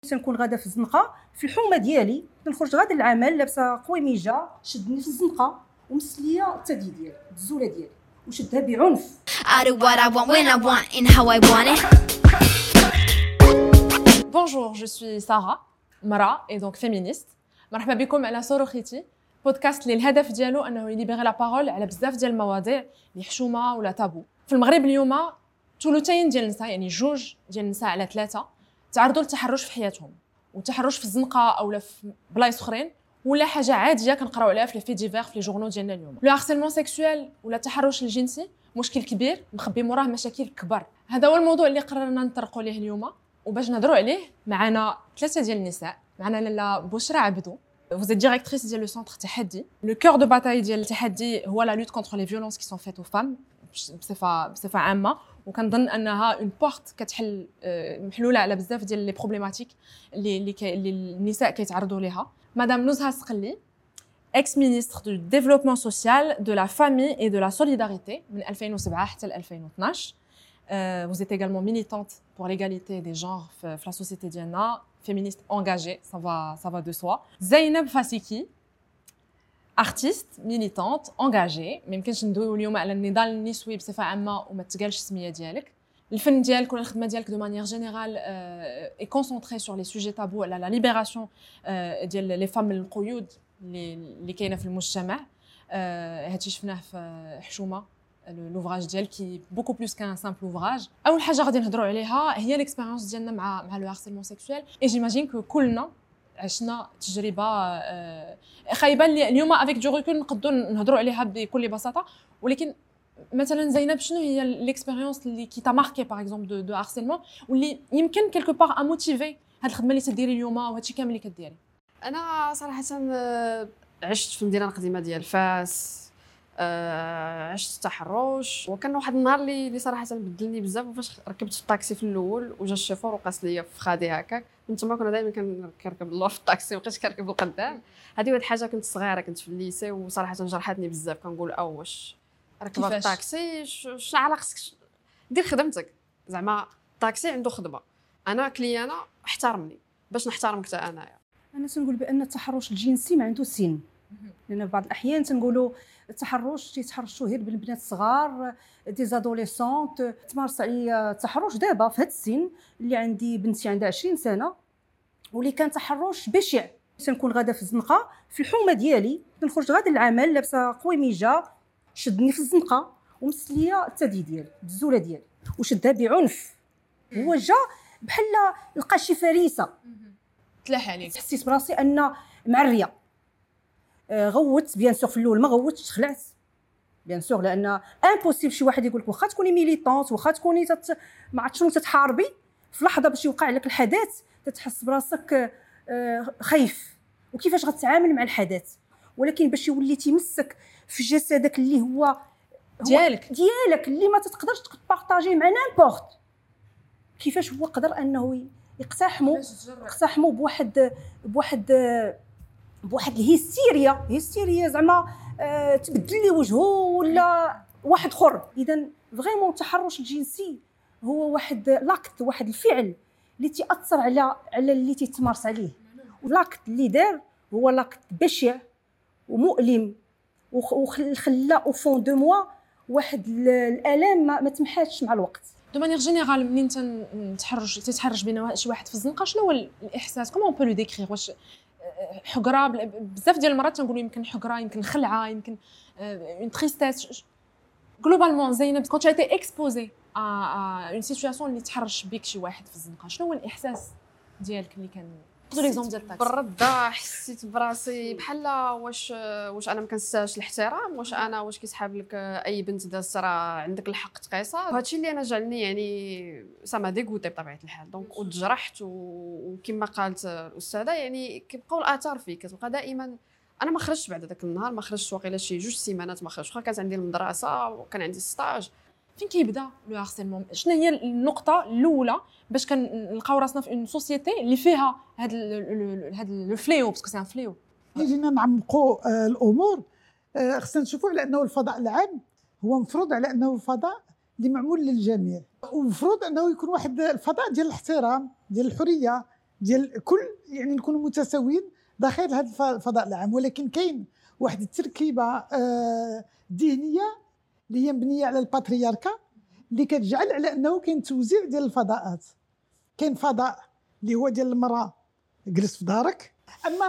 تنكون غاده في الزنقه في الحومه ديالي، تنخرج غاده للعمل لابسه قويميجه شدني في الزنقه ومسليه الثدي ديالي الزوله ديالي وشدها بعنف. I do what I want when I want and how I want it. Bonjour, je suis Sarah, مرأة et donc féministe. مرحبا بكم على صاروخيتي، بودكاست اللي الهدف ديالو انه يليبيغي لا بارول على بزاف ديال المواضيع اللي حشومه ولا تابو. في المغرب اليوم ثلثين ديال النساء، يعني جوج ديال النساء على ثلاثه، تعرضوا للتحرش في حياتهم، والتحرش في الزنقه او في بلايص اخرين ولا حاجه عاديه كنقراو عليها في لي في ديفير في لي جورنو ديالنا اليوم. لو هارسيلمون سيكسويل ولا التحرش الجنسي مشكل كبير مخبي موراه مشاكل كبار. هذا هو الموضوع اللي قررنا نطرقوا ليه اليوم، وباش نهضروا عليه معنا ثلاثه ديال النساء. معنا لاله بشرى عبدو، vous êtes directrice ديال لو سونتر تحدي. لو كور دو باتاي ديال التحدي هو لا لوت كونتر لي فيولونس كي سون فيت او فام بصفه عامه، وكنظن انها اون بورت كتحل محلوله على بزاف ديال لي بروبليماتيك اللي النساء كيتعرضوا ليها. مدام نزهه سقلي، ex ministre du développement social, de la famille et de la solidarité من 2007 حتى 2012. Vous êtes également militante pour l'égalité des genres في la société ديالنا, féministe engagée, ça va de soi. زينب فاسيكي, artiste, militante, engagée. ما يمكنش ندويو اليوم على النضال النسوي بصفه عامه وما تقالش السميه ديالك. الفن ديالك ولا الخدمه ديالك دو مانيير جينيرال اي كونسونطري سور لي سوجي تابو على لا ليبراسيون ديال لي فام من القيود اللي كاينه في المجتمع. هادشي شفناه في حشومه لوفراج ديال كي بوكو بلوس كان سامبل اوفراج. اول حاجه غادي نهضروا عليها هي ليكسبيريونس ديالنا مع لو هارسيلمون سيكسويل. اي جيماجين كو كلنا عشنا تجربه خايبه اللي اليوم افيك دو ريكول نقدروا نهضروا عليها بكل بساطه. ولكن مثلا زينب، شنو هي ليكسبيريونس اللي كي تا ماركي باغ اكزومبل دو هارسيلمون واللي يمكن كيلكو باغ ا موتيفي هاد الخدمه اللي تديري اليوم وهادشي كامل اللي كديري؟ انا صراحه عشت في المدينه القديمه ديال فاس، عشت التحرش، وكان واحد النهار اللي صراحه بدلني بزاف. وفاش ركبت في الطاكسي في الاول وجا الشوفور وقاس ليا في خادي هكاك، من تما كنا دائما كنركب اللور في الطاكسي، مابقيتش كنركب القدام. هذه واحد الحاجه، كنت صغيره كنت في الليسي وصراحه جرحتني بزاف. كنقول واش ركب الطاكسي شنو علاقه خصك دير خدمتك؟ زعما الطاكسي عنده خدمه، انا كليانه احترمني باش نحترمك حتى انايا. انا تنقول بان التحرش الجنسي ما عنده سن، لان في بعض الاحيان تنقولوا التحرش تيتحرشوا غير بالبنات الصغار دي زادوليسونت. تمارس عليا التحرش دابا في هذا السن اللي عندي بنتي عندها 20 سنه، واللي كان تحرش بشع. تنكون غاده في الزنقه في الحومه ديالي، تنخرج غاده للعمل لابسه قويميجه شدني في الزنقه ومسليه الثدي ديالي بالزوله ديالي وشدها بعنف. هو جا بحال لقى شي فريسه تلاح عليك. حسيت براسي ان معريه. غوت بيان سور في الاول، ما غوتش، خلعت بيان سور، لان امبوسيبل شي واحد يقول لك واخا تكوني ميليطونت، واخا تكوني ما عرفت شنو تتحاربي، في لحظه باش يوقع لك الحدث تتحس براسك خايف وكيفاش غتعامل مع الحدث. ولكن باش يولي تيمسك في جسدك اللي هو ديالك اللي ما تقدرش تبارطاجيه مع نيمبورت، كيفاش هو قدر انه يقتحموا بواحد الهيستيريا زعما تبدل لي وجهه ولا واحد اخر. اذا فريمون التحرش الجنسي هو واحد لاكت، واحد الفعل اللي تاثر على اللي تيتمارس عليه، ولاكت اللي دار هو لاكت بشع ومؤلم وخلى او فون دو موا واحد الالام ما تمحاتش مع الوقت. دو مانيير جينيرال، منين تتحرش بين شي واحد في الزنقه، شنو هو الاحساس؟ كومون بو لو ديكريغ؟ واش حقره؟ بزاف ديال المرات تنقولوا يمكن حقره، يمكن خلعه، يمكن اون تريستيس. جلوبالمون زينب، كنت ايتي اكسبوزي ا اون سيتوياسيون اللي تحرش بك شي واحد في الزنقه، شنو هو الاحساس ديالك اللي كان خذ ليكزومبل ديال الطاكسي؟ بالرده حسيت براسي بحال واش انا ما كنستاهلش الاحترام، واش كيسحاب لك اي بنت دازت راه عندك الحق تقيسها. هادشي اللي انا جعلني يعني سما ديغوتي بطبيعه الحال. دونك وتجرحت، وكما قالت الاستاذه يعني كيبقاو الاثار فيك، كتبقى دائما. انا ما خرجتش بعد ذاك النهار، ما خرجتش واقيلا شي 2 سيمانات ما خرجتش، واخا كانت عندي المدرسه وكان عندي ستاج. فين كيبدا لو هارسيلمون؟ شنو هي النقطه الاولى باش كنلقاو راسنا في اون سوسيتي اللي فيها هاد لو فليو، باسكو سي ان فليو؟ جينا نعمقوا الامور. خصنا نشوفوا على انه الفضاء العام هو مفروض على انه فضاء اللي معمول للجميع، ومفروض انه يكون واحد الفضاء ديال الاحترام، ديال الحريه، ديال كل يعني نكونوا متساويين داخل هذا الفضاء العام. ولكن كاين واحد التركيبه ذهنيه اللي هي مبنيه على الباترياركا اللي كتجعل على انه كاين توزيع ديال الفضاءات. كاين فضاء اللي هو ديال المراه جلس في دارك، اما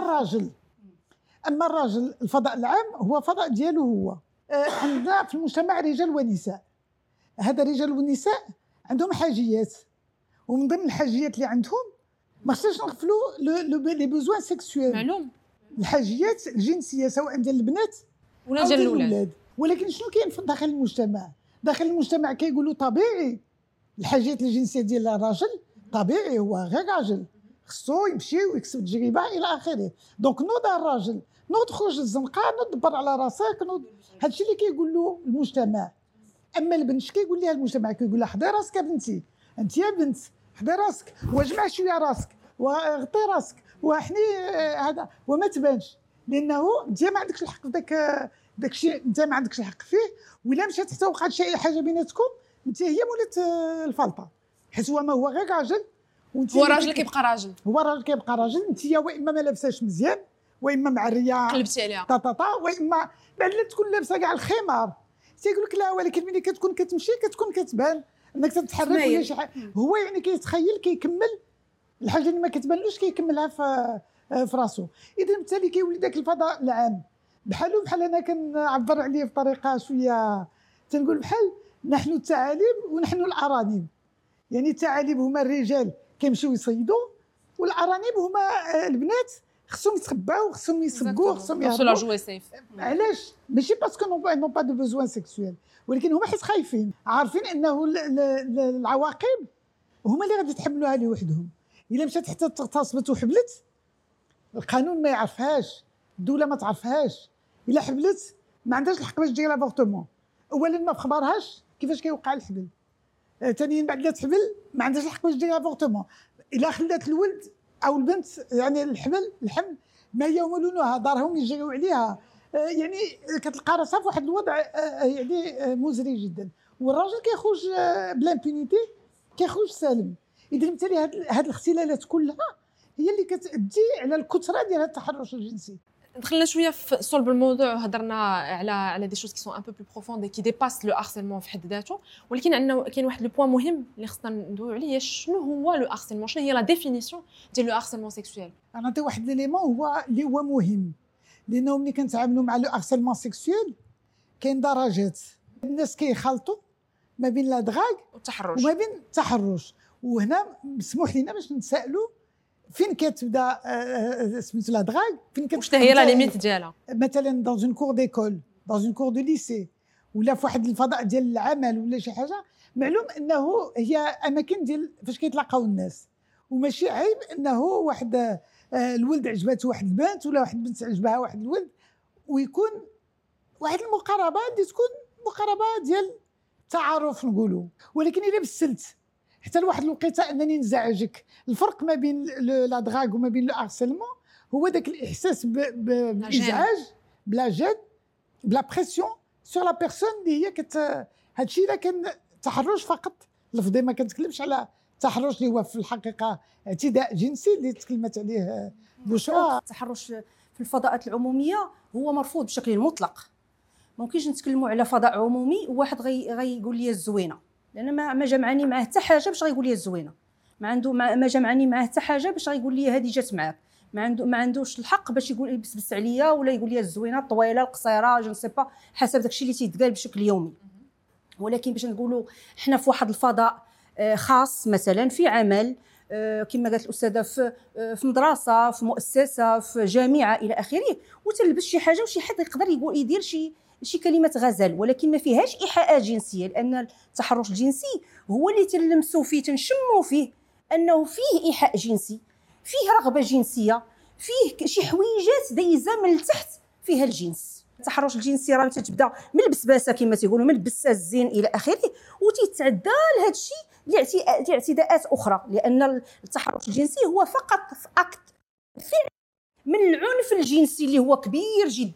الراجل الفضاء العام هو فضاء ديالو هو. عندنا في المجتمع رجال ونساء، هذا الرجال والنساء عندهم حاجيات، ومن ضمن الحاجيات اللي عندهم ما خصناش نغفلوا لي بوزوان سيكسويل، معلوم الحاجيات الجنسيه سواء ديال البنات ولا أو ديال ديال الاولاد. ولكن شنو كاين داخل المجتمع؟ داخل المجتمع كيقولوا طبيعي الحاجات الجنسيه ديال الراجل طبيعي، هو غير راجل خصو يمشي ويكسب تجربه الى اخره. دونك نوض الراجل، نوض خرج الزنقه، نوض دبر على راسك، نوض. هادشي اللي كيقول له المجتمع. اما البنت اش كيقول لها المجتمع؟ كيقول لها حضي راسك يا بنتي، انت يا بنت حضي راسك، واجمع شويه راسك وغطي راسك وحني هذا وما تبانش، لانه انت ما عندكش الحق في داك الشيء، انت ما عندكش الحق فيه. ولا مشات حتى وقعت شي حاجه بيناتكم، انت هي مولات الفلطه، حيت هو ما هو غير راجل وانت هو راجل كيبقى راجل، هو راجل كيبقى راجل. انت واما ما لابساش مزيان، واما معريه قلبتي عليها طاطا، واما بعد لا تكون لابسه كاع الخمار. تيقول لك لا، ولكن ملي كتكون كتمشي كتكون كتبان انك تتحرك ولا شي حاجه. هو يعني كيتخيل كيكمل الحاجه اللي ما كتبانلوش كيكملها في راسو. اذا بالتالي كيولي داك الفضاء العام بحال انا كنعبر عليه بطريقه شويه، تنقول بحال نحن الثعالب ونحن الارانب. يعني الثعالب هما الرجال كيمشيو يصيدوا، والارانب هما البنات خصهم يتخباو، خصهم يسبقوا، خصهم يوصلوا يهربوا. جوي سيف. علاش؟ ماشي باسكو نون با دو بوزوان سيكسويل، ولكن هما حيت خايفين، عارفين انه العواقب هما اللي غادي يتحملوها لوحدهم. الا مشات حتى اغتصبت وحبلت، القانون ما يعرفهاش، الدوله ما تعرفهاش. الا حبلت ما عندهاش الحق باش دير لافورتمون. اولا ما بخبارهاش كيفاش كيوقع الحبل، ثانيا بعد لا تحبل ما عندهاش الحق باش دير لافورتمون. الا خلات الولد او البنت يعني الحمل ما يمولونها دارهم يجريو عليها، يعني كتلقى راسها في واحد الوضع يعني مزري جدا. والراجل كيخرج بلامبونيتي، كيخرج سالم. اذا بالتالي هاد الاختلالات كلها هي اللي كتأدي على الكثره ديال التحرش الجنسي. دخلنا شويه في صلب الموضوع وهضرنا على دي شوز كي سون ان بو بلو بروفوند كي ديباس لو هارسيلمون في حد ذاته. ولكن عندنا كاين واحد لو بوين مهم اللي خصنا ندويو عليه، شنو هو لو هارسيلمون، شنو هي لا ديفينيسيون ديال لو هارسيلمون سيكسويل. انا نعطي واحد ليليمون هو اللي هو مهم، لانه ملي كنتعاملوا مع لو هارسيلمون سيكسويل كاين درجات. الناس كيخلطوا ما بين لا دراغ والتحرش وما بين التحرش. وهنا مسموح لنا باش نتسائلوا فين كتبدا سميتو لا دراغ، فين كتبدا، واش هي لا ليميت ديالها. مثلا دون اون كور ديكول، دون اون كور دو ليسي، ولا في واحد الفضاء ديال العمل ولا شي حاجه. معلوم انه هي اماكن ديال فاش كيتلاقاو الناس، وماشي عيب انه واحد الولد عجبته واحد البنت، ولا واحد البنت عجبها واحد الولد، ويكون واحد المقاربه اللي تكون مقاربه ديال التعارف نقولوا. ولكن الا بسلت حتى لواحد الوقيته انني نزعجك. الفرق ما بين لا دراغ وما بين لو هارسيلمون هو داك الاحساس بالازعاج، بلا جد، بلا بريسيون سور لا بيرسون اللي هي هادشي. الا كان تحرش فقط لفظي، ما كنتكلمش على التحرش اللي هو في الحقيقه اعتداء جنسي اللي تكلمت عليه بشرى. التحرش في الفضاءات العموميه هو مرفوض بشكل مطلق. ممكنش نتكلموا على فضاء عمومي وواحد غيقول لي الزوينه، لان ما جمعني معاه حتى حاجه باش غيقول لي الزوينه. ما جمعني معاه حتى حاجه باش غيقول لي هذه جات معاك. ما عندوش الحق باش يقول يبسبس عليا ولا يقول لي الزوينه، الطويله، القصيره، جو سي با، حسب داكشي اللي تيتقال بشكل يومي. ولكن باش نقولوا حنا في واحد الفضاء خاص، مثلا في عمل، كما قالت الاستاذه في مدرسه، في مؤسسه، في جامعه الى اخره، وتلبس شي حاجه وشي حد يقدر يقول يدير شي كلمه غزل، ولكن ما فيهاش ايحاءات جنسيه. لان التحرش الجنسي هو اللي تلمسوا فيه، تنشموا فيه انه فيه ايحاء جنسي، فيه رغبه جنسيه، فيه شي حويجات دايزه من التحت فيها الجنس. التحرش الجنسي راه تتبدا من البسباسه كما تيقولوا، من البسه الزين الى اخره، وتيتعدى لهذا الشيء لاعتداءات اخرى. لان التحرش الجنسي هو فقط اكت من العنف الجنسي اللي هو كبير جدا،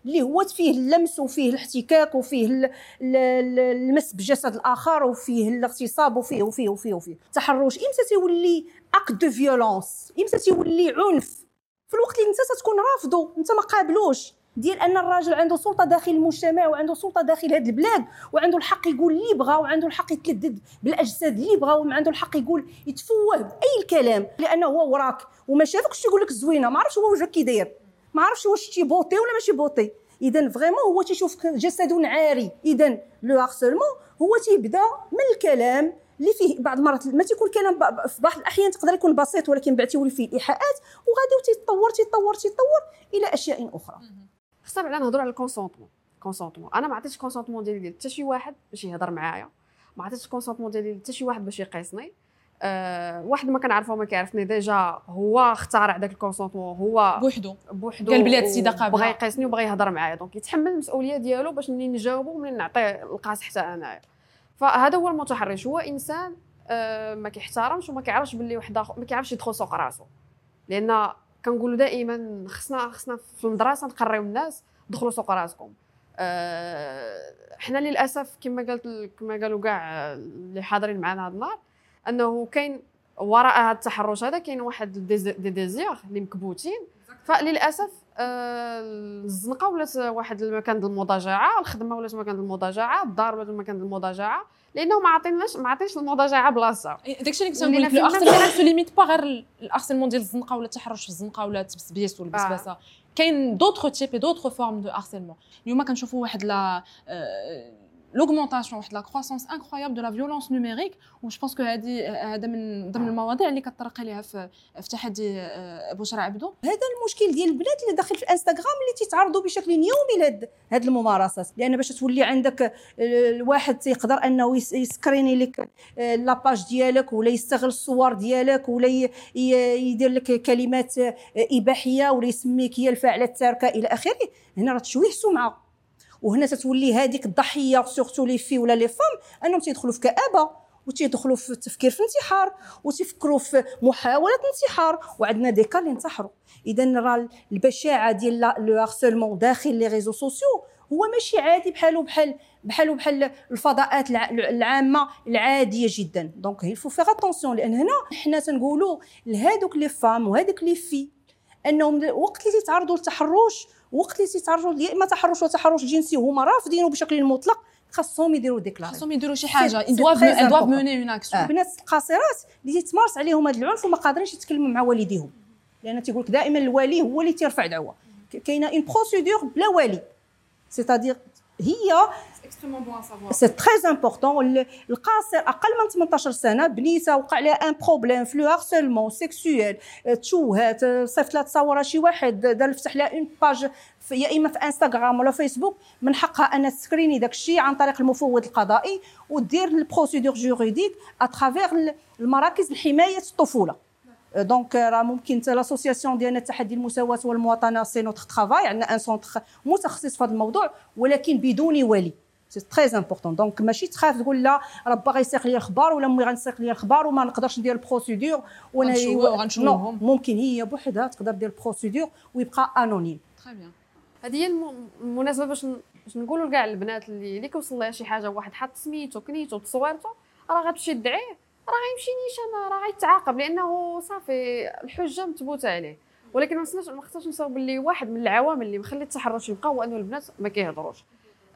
اللي هو فيه اللمس وفيه الاحتكاك وفيه المس بجسد الاخر وفيه الاغتصاب وفيه التحرش امتى تيولي اكت دو فيولونس، امتى تيولي عنف؟ في الوقت اللي انت تكون رافضه، انت ما قابلوش، ديال ان الراجل عنده سلطه داخل المجتمع وعنده سلطه داخل هذه البلاد وعنده الحق يقول اللي بغى وعنده الحق يتلذذ بالاجساد اللي بغى وعنده الحق يقول يتفوه باي الكلام لانه هو وراك وما شافكش تيقول لك زوينه، ما عرفش هو وجهك كي داير، ما عرفش واش تي بوطي ولا ماشي بوطي. اذا فريمون هو تيشوفك جسد عاري. اذا لو هارسلمون هو تيبدا من الكلام اللي فيه بعض المرات ما تيكون كلام، في بعض الاحيان تقدر يكون بسيط ولكن بعد تيولي فيه ايحاءات وغادي تيتطور الى اشياء اخرى. خصنا بعدا نهضروا على الكونسونطمون. انا ما عطيتش الكونسونطمون ديالي حتى شي واحد باش يهضر معايا، ما عطيتش الكونسونطمون ديالي حتى شي واحد باش يقيسني. واحد ما كنعرفو ما كيعرفني ديجا هو اخترع داك الكونسونطمون، هو بوحدو قال بلي هاد السيده قابله بغى يقيسني وبغى يهضر معايا، دونك يتحمل المسؤوليه ديالو باش منين نجاوبو ومنين نعطيه القاس حتى انايا. فهذا هو المتحرش، هو انسان ما كيحترمش وما كيعرفش باللي واحد اخر ما كيعرفش يدخل سوق راسو. لان كنقولوا دائما خصنا في المدرسه نقريو الناس دخلوا سوق راسكم. حنا للاسف كما قالوا كاع اللي حاضرين معنا هذا النهار انه كاين وراء هذا التحرش هذا كاين واحد دي ديزير اللي مكبوتين. فللاسف الزنقه ولات واحد المكان ديال المضاجعه، الخدمه ولات مكان ديال المضاجعه، الدار ولات مكان ديال المضاجعه، لانه ما عطيناش المضاجعه بلاصه. داكشي اللي كنت نقول لك، الارسلمون سو ليميت با غير الارسلمون ديال الزنقه ولا التحرش في الزنقه ولا التبسبيس والبسباسه. كاين دوطخ تيب دوطخ فورم دو هارسلمون. اليوم كنشوفوا واحد لا l'augmentation واحد لا كروسونس انكرويابل دو لا فيولونس نوميريك، و جو بونس كو هذا من ضمن المواضيع اللي كتطرق ليها في تحدي بشرى عبدو. هذا المشكل ديال البنات اللي داخل في الانستغرام اللي تيتعرضوا بشكل يومي لهاد الممارسات، لان باش تولي عندك الواحد تيقدر انه يسكريني لك لاباج ديالك ولا يستغل الصور ديالك ولا يدير لك كلمات اباحيه ولا يسميك هي الفاعله التاركه الى اخره. هنا راه تشويه سمعه، وهنا تتولي هذيك الضحيه سورتو لي في ولا لي فام انهم تيدخلوا في كآبه وتيدخلوا في التفكير في انتحار وتفكروا في محاوله انتحار، وعندنا دي كا اللي انتحروا. اذا راه البشاعه ديال لو هارسلمون داخل لي ريزو سوسيو هو ماشي عادي بحال الفضاءات العامه العاديه جدا. دونك il faut faire attention، لان هنا حنا تنقولوا لهذوك لي فام وهذوك لي في انهم وقت اللي تيتعرضوا للتحرش، وقت اللي تيتعرضوا يا اما تحرش ولا تحرش جنسي وهما رافضينه بشكل مطلق، خاصهم يديروا ديكلاري، خاصهم يديروا شي حاجه. دوف موني اون اكسيون. البنات القاصرات اللي تيتمارس عليهم هذا العنف وما قادرينش يتكلموا مع والديهم، لان تيقول لك دائما الوالي هو اللي تيرفع دعوه. كاينه اون بروسيدور بلا والي، سيتادير هي اكستريمون بون سافوار. سي تري امبورطون. القاصر اقل من 18 سنه بنيته وقع لها ان بروبليم في لو هارسلمون سيكسويل، تشوهات، صيفط لها تصاورها شي واحد، دار فتح لها اون باج يا اما في انستغرام ولا فيسبوك، من حقها ان تسكريني داك الشيء عن طريق المفوض القضائي ودير البروسيدور جوريديك اترافير المراكز لحمايه الطفوله. دونك راه ممكن حتى لاسوسياسيون ديالنا تحدي المساواه والمواطنه سي نوتر ترافاي، عندنا ان سونتر متخصص في هذا الموضوع ولكن بدون ولي. سي تري امبورطون. دونك ماشي تخاف تقول لا راه باغي يسيق لي الخبار ولا امي غنسيق لي الخبار وما نقدرش ندير البروسيدور وغنشوفهم. ممكن هي بوحدها تقدر دير البروسيدور ويبقى انونيم. تري بيان. هذه هي المناسبه باش نقولوا لكاع البنات اللي كيوصل لها شي حاجه، واحد حط سميتو كنيتو تصويرته، راه غتمشي تدعيه، راه غيمشي نيشان، راه غيتعاقب لانه صافي الحجه مثبوته عليه. ولكن ما خصناش نساو باللي واحد من العوامل اللي مخلي التحرش يبقى هو انه البنات ما كيهضروش.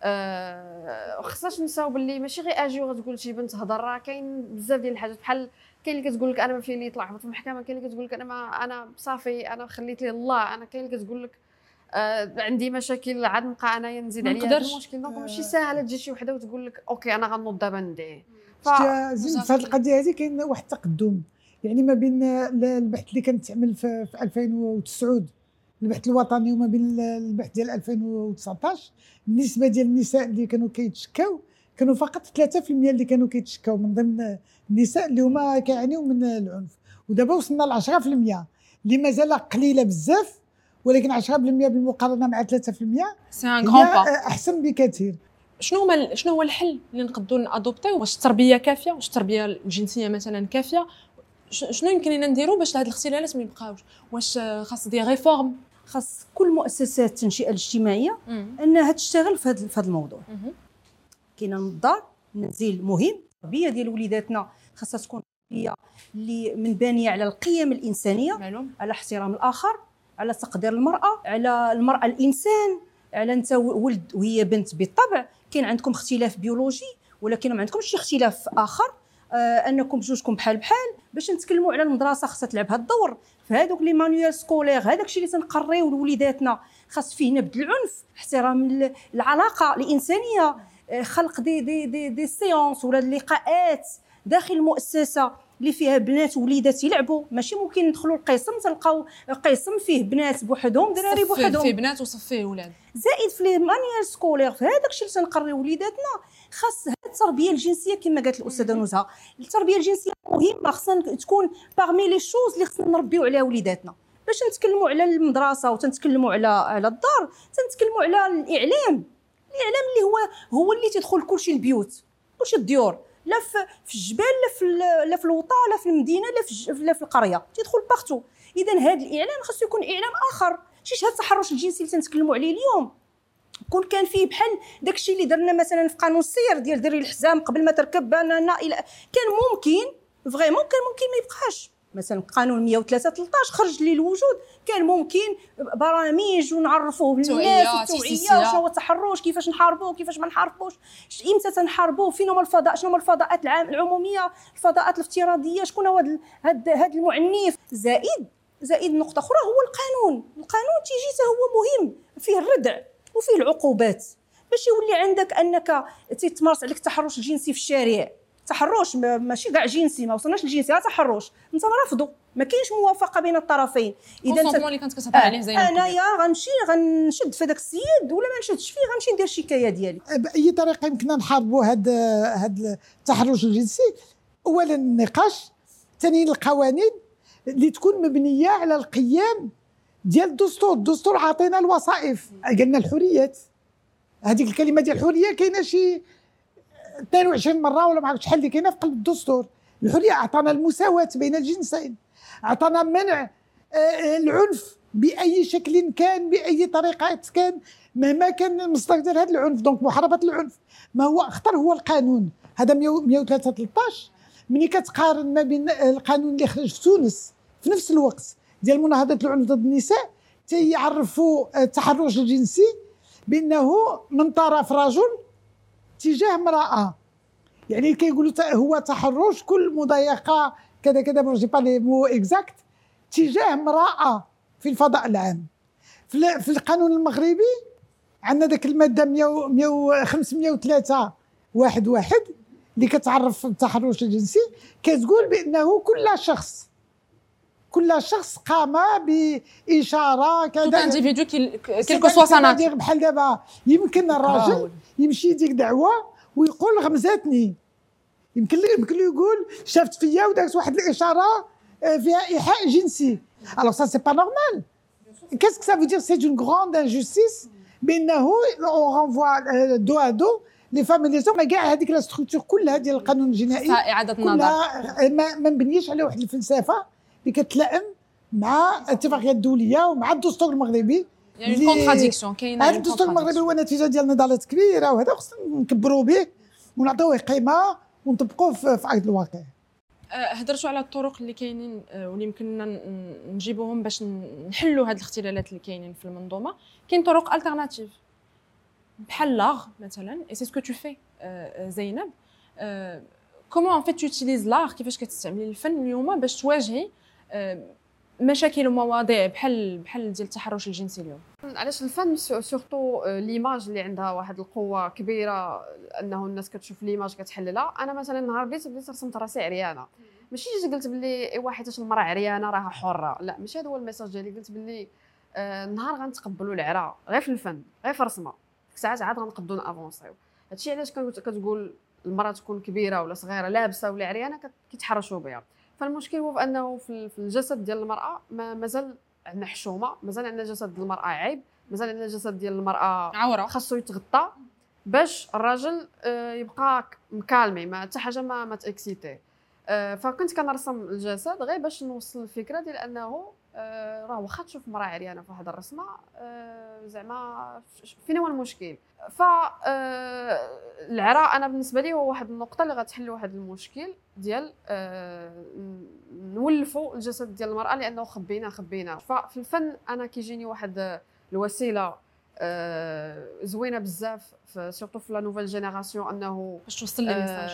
خصناش نساو باللي ماشي غير اجي وغتقول شي بنت هضر، راه كاين بزاف ديال الحاجات، بحال كاين اللي كتقول لك انا ما فيا لي يطلع في المحكمه، كاين اللي كتقول لك انا صافي انا خليت لي الله، انا كاين اللي كتقول لك عندي مشاكل عاد نبقى انايا نزيد عليا هذا المشكل. دونك ماشي ساهله تجي شي وحده وتقول لك اوكي انا غنوض دابا ندعي. زين في هذه القضيه هذه كاين واحد التقدم يعني ما بين البحث اللي كانت تعمل في 2009 البحث الوطني وما بين البحث ديال 2019. النسبه ديال النساء اللي كانوا كيتشكاو كانوا فقط 3% اللي كانوا كيتشكاو من ضمن النساء اللي هما كيعانيو من العنف، ودابا وصلنا ل 10% اللي مازال قليله بزاف، ولكن 10% بالمقارنه مع 3% سي ان غران با احسن بكثير. شنو هو الحل اللي نقدروا نادوبتيو؟ واش التربيه كافيه؟ واش التربيه الجنسيه مثلا كافيه؟ شنو يمكن لنا نديروا باش هاد الاختلالات ما يبقاوش؟ واش خاص دي ريفورم؟ خاص كل مؤسسات التنشئه الاجتماعيه انها تشتغل في هذا الموضوع. كاينه الدار منزل مهم، التربيه ديال وليداتنا خاصها تكون تربيه اللي منبنيه على القيم الانسانيه، معلوم. على احترام الاخر، على تقدير المراه، على المراه الانسان، على انت ولد وهي بنت. بالطبع كاين عندكم اختلاف بيولوجي، ولكن ما عندكمش شي اختلاف اخر، انكم بجوجكم بحال باش نتكلموا على المدرسه خاصها تلعب هذا الدور في هذوك لي مانيوال سكولير. هذاك الشيء اللي تنقريو لوليداتنا، خاص فيه نبذ العنف، احترام العلاقه الانسانيه، خلق دي سيونس ولا اللقاءات داخل المؤسسه اللي فيها بنات ووليدات يلعبوا. ماشي ممكن ندخلوا القسم تلقاو قسم فيه بنات بوحدهم دراري بوحدهم، فيه بنات وصف فيه ولاد. زائد في لي مانيير سكولير في هذاك الشيء اللي تنقريو وليداتنا، خاص هذه التربيه الجنسيه كما قالت الاستاذه نزهه. التربيه الجنسيه مهمه، خاصها تكون باغمي لي شوز اللي خصنا نربيو عليها وليداتنا. باش نتكلموا على المدرسه وتنتكلموا على الدار، تنتكلموا على الاعلام اللي هو اللي تدخل كلشي البيوت، كلشي الديور، لا في الجبال، لا في الوطا، لا في المدينه، لا في القريه، تدخل بارتو. اذا هذا الاعلام خاصو يكون اعلام اخر، ماشي هذا التحرش الجنسي اللي تنتكلموا عليه اليوم. كان فيه بحال داكشي اللي درنا مثلا في قانون السير ديال دري الحزام قبل ما تركب بنانا، كان ممكن فريمون ما يبقاش. مثلا قانون 103/13 خرج لي الوجود، كان ممكن برامج ونعرفوه للناس، التوعيه، شنو هو التحرش، كيفاش نحاربوه، كيفاش ما نحاربوش، امتى تنحاربوه، فين هما الفضاء، شنو هما الفضاءات العموميه، الفضاءات الافتراضيه، شكون هو هذا المعنف. زائد نقطه اخرى هو القانون تيجي حتى هو مهم، فيه الردع وفيه العقوبات، باش يولي عندك انك تتمارس عليك التحرش الجنسي في الشارع. تحرش ماشي كاع جنسي، ما وصلناش للجنسي، تحرش انت رافضه، ما كاينش موافقه بين الطرفين. اذا انت اللي كنت كتهضر عليه زين، انايا غنشد في داك السيد ولا ما نشدش فيه، غنمشي ندير الشكايه ديالي. باي طريقه يمكننا نحاربوا هذا التحرش الجنسي؟ اولا النقاش، ثانيا القوانين اللي تكون مبنيه على القيم ديال الدستور عطينا الوظائف، قالنا الحريات. هذيك الكلمه ديال الحريه كاينه شي 22 مره ولا ما عرفتش شحال اللي كاينه في قلب الدستور. الحريه عطانا المساواه بين الجنسين، عطانا منع العنف باي شكل كان، باي طريقه كان، مهما كان مصدر هذا العنف. دونك محاربه العنف ما هو اخطر هو القانون هذا 103/13. ملي كتقارن ما بين القانون اللي خرج في تونس في نفس الوقت ديال مناهضه العنف ضد النساء، تيعرفوا التحرش الجنسي بانه من طرف رجل تجاه امراه، يعني كيقولوا هو تحرش كل مضايقه كذا كذا، ما جي با لي مو اكزاكت، تجاه امراه في الفضاء العام. في القانون المغربي عندنا ذاك الماده 503/11 اللي كتعرف التحرش الجنسي، كتقول بانه كل شخص قام باشاره كذا، تو انديفيدو كيلكو سوا سانات. بحال دابا يمكن الراجل يمشي يديك دعوه ويقول غمزاتني، يمكن له يقول شافت فيا ودارت واحد الاشاره فيها ايحاء جنسي. الوغ سا سي با نورمال. كاسكو سا فو دير؟ سي اون غروند انجستيس بانه اون رونفوا دو ا دو لي فام لي زوم. كاع هذيك لا ستركتور كلها ديال القانون الجنائي اعاده النظر ما مبنيش على واحد الفلسفه اللي كتلائم مع الاتفاقيه الدوليه ومع الدستور المغربي. يعني كونتراديكسيون كاينه. هذا الدستور المغربي هو نتيجه ديال نضالات كبيره، وهذا خصنا نكبروا به ونعطيوه قيمه ونطبقوه في ارض الواقع. هضرتوا على الطرق اللي كاينين واللي يمكننا نجيبوهم باش نحلوا هذه الاختلالات اللي كاينين في المنظومه. كاين طرق التيرناتيف بحال لاغ مثلا، اي سي سكو تو في زينب. كومون ان فيت توتيليز لاغ، كيفاش كتستعملي الفن اليوم باش تواجهي مشاكل ومواضيع بحال ديال التحرش الجنسي اليوم؟ علاش الفن سورتو ليماج اللي عندها واحد القوه كبيره، انه الناس كتشوف ليماج كتحللها. انا مثلا نهار بديت رسمت راسي عريانه، ماشي جيت قلت باللي اي واحد حيت المراه عريانه راها حره، لا ماشي هذا هو الميساج ديالي. قلت باللي نهار غنتقبلوا العرا غير في الفن، غير في رسمه، ديك الساعات عاد غنقدروا نافونسيو. هادشي علاش كتقول المراه تكون كبيره ولا صغيره لابسه ولا عريانه كيتحرشوا بها. فالمشكل هو انه في الجسد ديال المراه مازال عندنا حشومه، مازال عندنا جسد ديال المراه عيب، مازال عندنا جسد ديال المراه عوره خاصو يتغطى باش الراجل يبقى مكالمي، ما حتى حاجه ما تاكسيتيه. فكنت كنرسم الجسد غير باش نوصل الفكره ديال انه راه واخا تشوف مراه عريانه في واحد الرسمه زعما فين هو المشكل؟ ف العراء انا بالنسبه لي هو واحد النقطه اللي غتحل واحد المشكل ديال نولفوا الجسد ديال المراه لانه خبينا. ففي الفن انا كيجيني واحد الوسيله زوينه بزاف سورتو في لا نوفيل جينيراسيون انه باش توصل لي الميساج.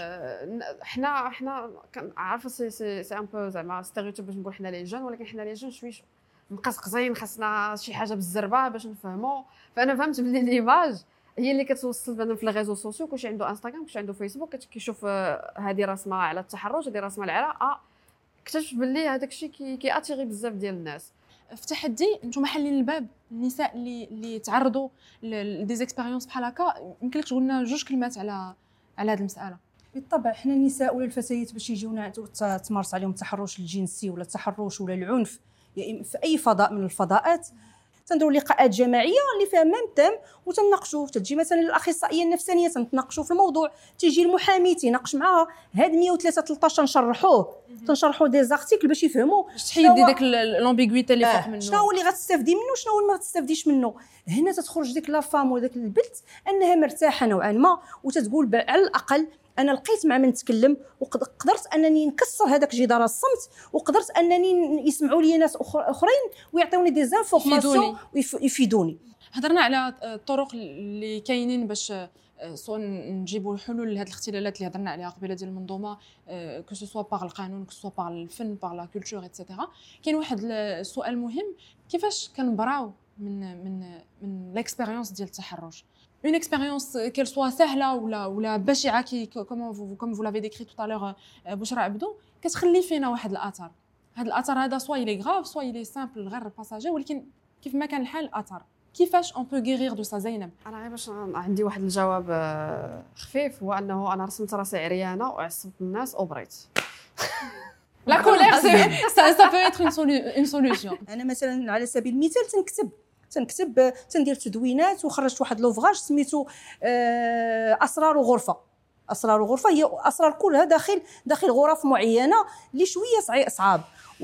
حنا عارفه سي ان بو زعما ستيريوتيب باش نقول حنا لي جون، ولكن حنا لي جون شويه مقزقزين، خاصنا شي حاجه بالزربه باش نفهموا. فانا فهمت بلي ليماج هي اللي كتوصل بنا في الريزو سوسيو. كلشي عنده انستغرام، كلشي عنده فيسبوك، كيشوف هذه رسمه على التحرش، هذه رسمه العراء، اكتشف بلي هذاك الشيء كياتيري بزاف ديال الناس. في تحدي نتوما حالين الباب النساء اللي تعرضوا لدي زيكسبيريونس بحال هكا، يمكن لك تقول لنا جوج كلمات على هذه المساله؟ بالطبع حنا النساء ولا الفتيات باش يجيونا تمارس عليهم التحرش الجنسي ولا التحرش ولا العنف في اي فضاء من الفضاءات، تنديروا لقاءات جماعيه اللي فيها ميم تيم وتناقشوا. تجي مثلا الاخصائيه النفسانيه تناقشوا في الموضوع، تيجي المحامي تيناقش معاها. هاد 103 13 تنشرحوا دي زارتيكل باش يفهموا باش تحيد ديك لومبيغويتي اللي فوق منه، شنو هو اللي غتستافدي منه وشنو هو اللي ما غتستافديش منه. هنا تتخرج ديك لا فام وداك البنت انها مرتاحه نوعا ما، وتتقول على الاقل انا لقيت مع من نتكلم وقدرت انني نكسر هذاك جدار الصمت، وقدرت انني يسمعوا لي ناس اخرين ويعطيوني دي زانفورماسيون ويفيدوني. هضرنا على الطرق اللي كاينين باش سواء نجيبوا حلول لهذه الاختلالات اللي هضرنا عليها قبيله ديال المنظومه، كو سو سوا باغ القانون، كو سو باغ الفن، باغ لا كولتور ايتترا. كاين واحد السؤال مهم، كيفاش كنبراو من ليكسبيريونس ديال التحرش؟ une expérience qu'elle soit سهله ولا بشعه comme vous l'avez décrit tout à l'heure بشرى عبدو، كتخلي فينا واحد الاثر. هذا الاثر هذا سوا يلي غراف سوا يلي سامبل غير باساجي، ولكن كيف ما كان الحال اثر. كيفاش اون بو غيرير دو سا زينب؟ انا غير باش عندي واحد الجواب خفيف، هو انه انا رسمت راسي عريانه وعصبت الناس وبريت. لا كولير ça peut être une solution. انا مثلا على سبيل المثال تنكتب تندير تدوينات، وخرجت واحد لوفغاج سميتو اسرار غرفه. اسرار غرفه هي اسرار كلها داخل غرف معينه اللي شويه صعاب،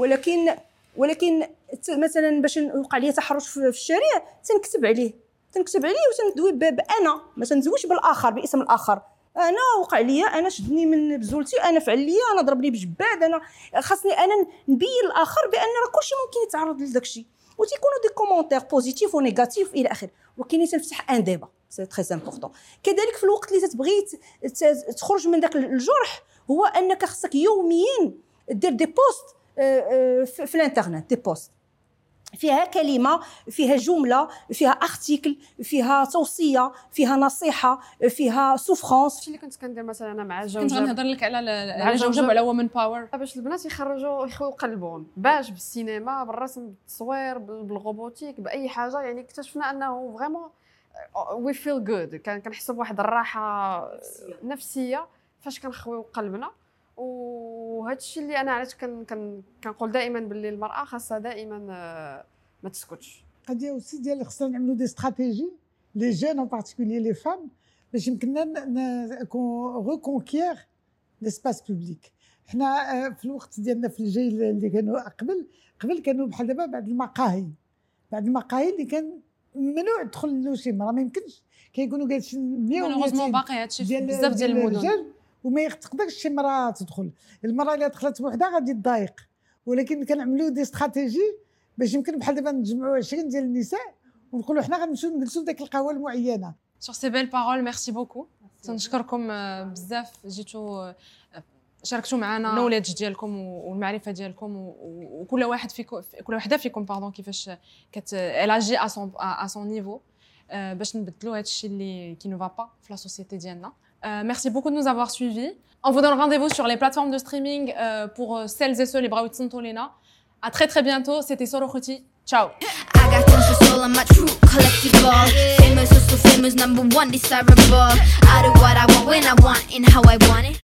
ولكن مثلا باش يوقع لي تحرش في الشارع تنكتب عليه وتندوي بانا، ما تنزويش بالاخر باسم الاخر. انا وقع لي، انا شدني من بزولتي، انا فعل لي، انا ضربني بجباد، انا خاصني انا نبين الاخر بان راه كلشي ممكن يتعرض لذاك الشيء، وتيكونوا دي كومونتير بوزيتيف ونيجاتيف الى اخره. وكاين تنفتح ان ديبا سي تري امبورطون. كذلك في الوقت اللي تتبغي تخرج من داك الجرح، هو انك خصك يوميا دير دي بوست في الانترنت، دي بوست فيها كلمه، فيها جمله، فيها ارتيكل، فيها توصيه، فيها نصيحه، فيها سوفرانس. الشيء اللي كنت كندير مثلا انا مع الجوجب، كنت غنهضر لك على الجوجب وعلى وومن باور، باش البنات يخرجوا يخويو قلبهم، باش بالسينما، بالرسم، بالتصوير، بالروبوتيك، باي حاجه. يعني اكتشفنا انه فريمون وي فيل جود، كنحس بواحد الراحه نفسيه فاش كنخويو قلبنا. وهذا الشيء اللي انا علاش كنقول دائما باللي المراه خاصها دائما ما تسكتش. قضيه اوسي ديال خصنا نعملوا دي استراتيجي لي جون ان بارتيكولير لي فام باش يمكننا ريكونكير ليسباس بوبليك. حنا في الوقت ديالنا في الجيل اللي كانوا قبل كانوا بحال دابا بعد المقاهي اللي كان ممنوع تدخل له شي مرا، ما يمكنش، كيكونوا جالسين 100 باقي هادشي بزاف ديال المدن، وما تقدرش شي مرا تدخل. المراه اللي دخلت بوحدها غادي تضايق، ولكن كنعملوا دي استراتيجي باش يمكن بحال دابا نجمعوا 20 ديال النساء ونقولوا حنا غنمشيو نجلسوا في ديك القهوه المعينه. سور سي بيل بارول، ميرسي بوكو. تنشكركم بزاف، جيتوا شاركتوا معنا النوليدج ديالكم والمعرفه ديالكم، وكل واحد فيكم كل وحده فيكم باردون كيفاش الاجي ا سون نيفو باش نبدلوا هذا الشيء اللي كي نو با با في لا سوسيتي ديالنا. Merci beaucoup de nous avoir suivis. On vous donne rendez-vous sur les plateformes de streaming pour celles et ceux les bras Tolena. À très bientôt. C'était Soro Khuti. Ciao. I got tons of soul on my true collectible. Famous, so famous, #1 desirable. I do what I want when I want and how I want it.